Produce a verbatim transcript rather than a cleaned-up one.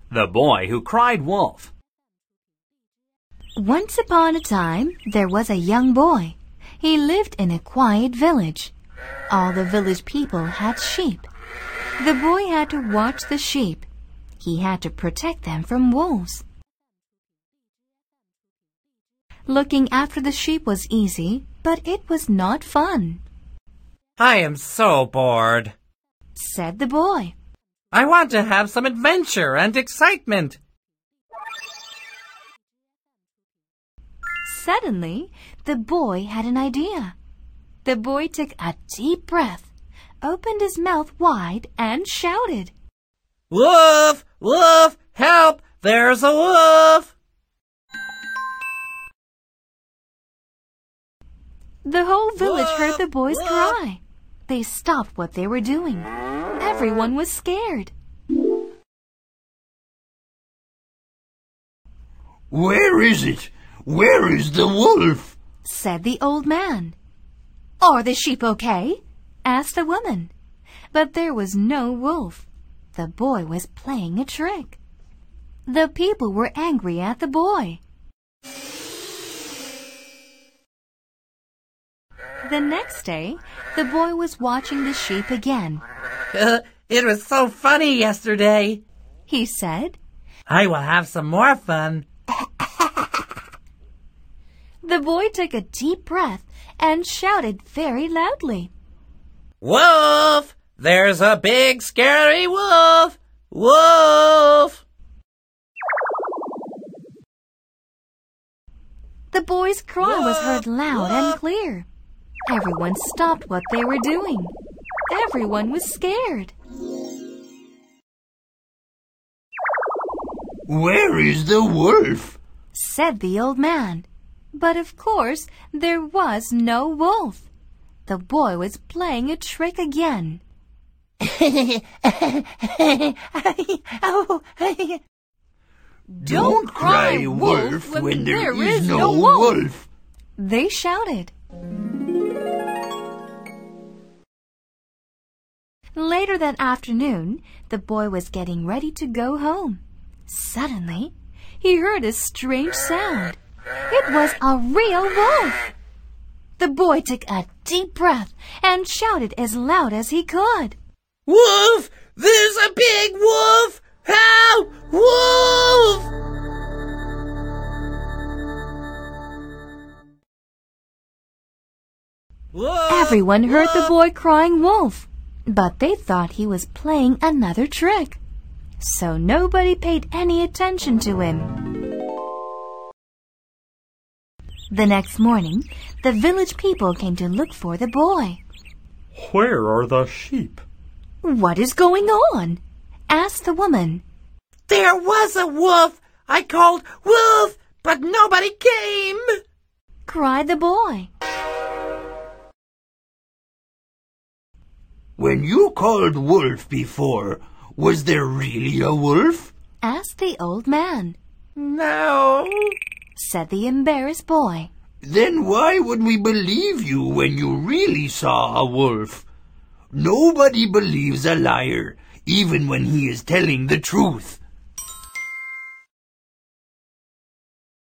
The Boy Who Cried Wolf. Once upon a time, there was a young boy. He lived in a quiet village. All the village people had sheep. The boy had to watch the sheep. He had to protect them from wolves. Looking after the sheep was easy, but it was not fun. I am so bored, said the boy. I want to have some adventure and excitement. Suddenly, the boy had an idea. The boy took a deep breath, opened his mouth wide, and shouted, Wolf! Wolf! Help! There's a wolf! The whole village Wolf! heard the boy's Wolf! cry. They stopped what they were doing. Everyone was scared. Where is it? Where is the wolf? Said the old man. Are the sheep okay? Asked the woman. But there was no wolf. The boy was playing a trick. The people were angry at the boy. The next day, the boy was watching the sheep again. Uh, it was so funny yesterday, he said. I will have some more fun. The boy took a deep breath and shouted very loudly. Wolf! There's a big scary wolf! Wolf! The boy's cry was heard loud and clear. Everyone stopped what they were doing. Everyone was scared. Where is the wolf? Said the old man. But of course, there was no wolf. The boy was playing a trick again. Don't cry wolf when there is no wolf, they shouted. Later that afternoon, the boy was getting ready to go home. Suddenly, he heard a strange sound. It was a real wolf. The boy took a deep breath and shouted as loud as he could. Wolf! There's a big wolf! Help! Wolf! Wolf! Everyone heard Wolf! the boy crying wolf, but they thought he was playing another trick. So nobody paid any attention to him. The next morning, the village people came to look for the boy. Where are the sheep? What is going on? Asked the woman. There was a wolf! I called wolf, but nobody came! Cried the boy. When you called wolf before, was there really a wolf? Asked the old man. No, said the embarrassed boy. Then why would we believe you when you really saw a wolf? Nobody believes a liar, even when he is telling the truth.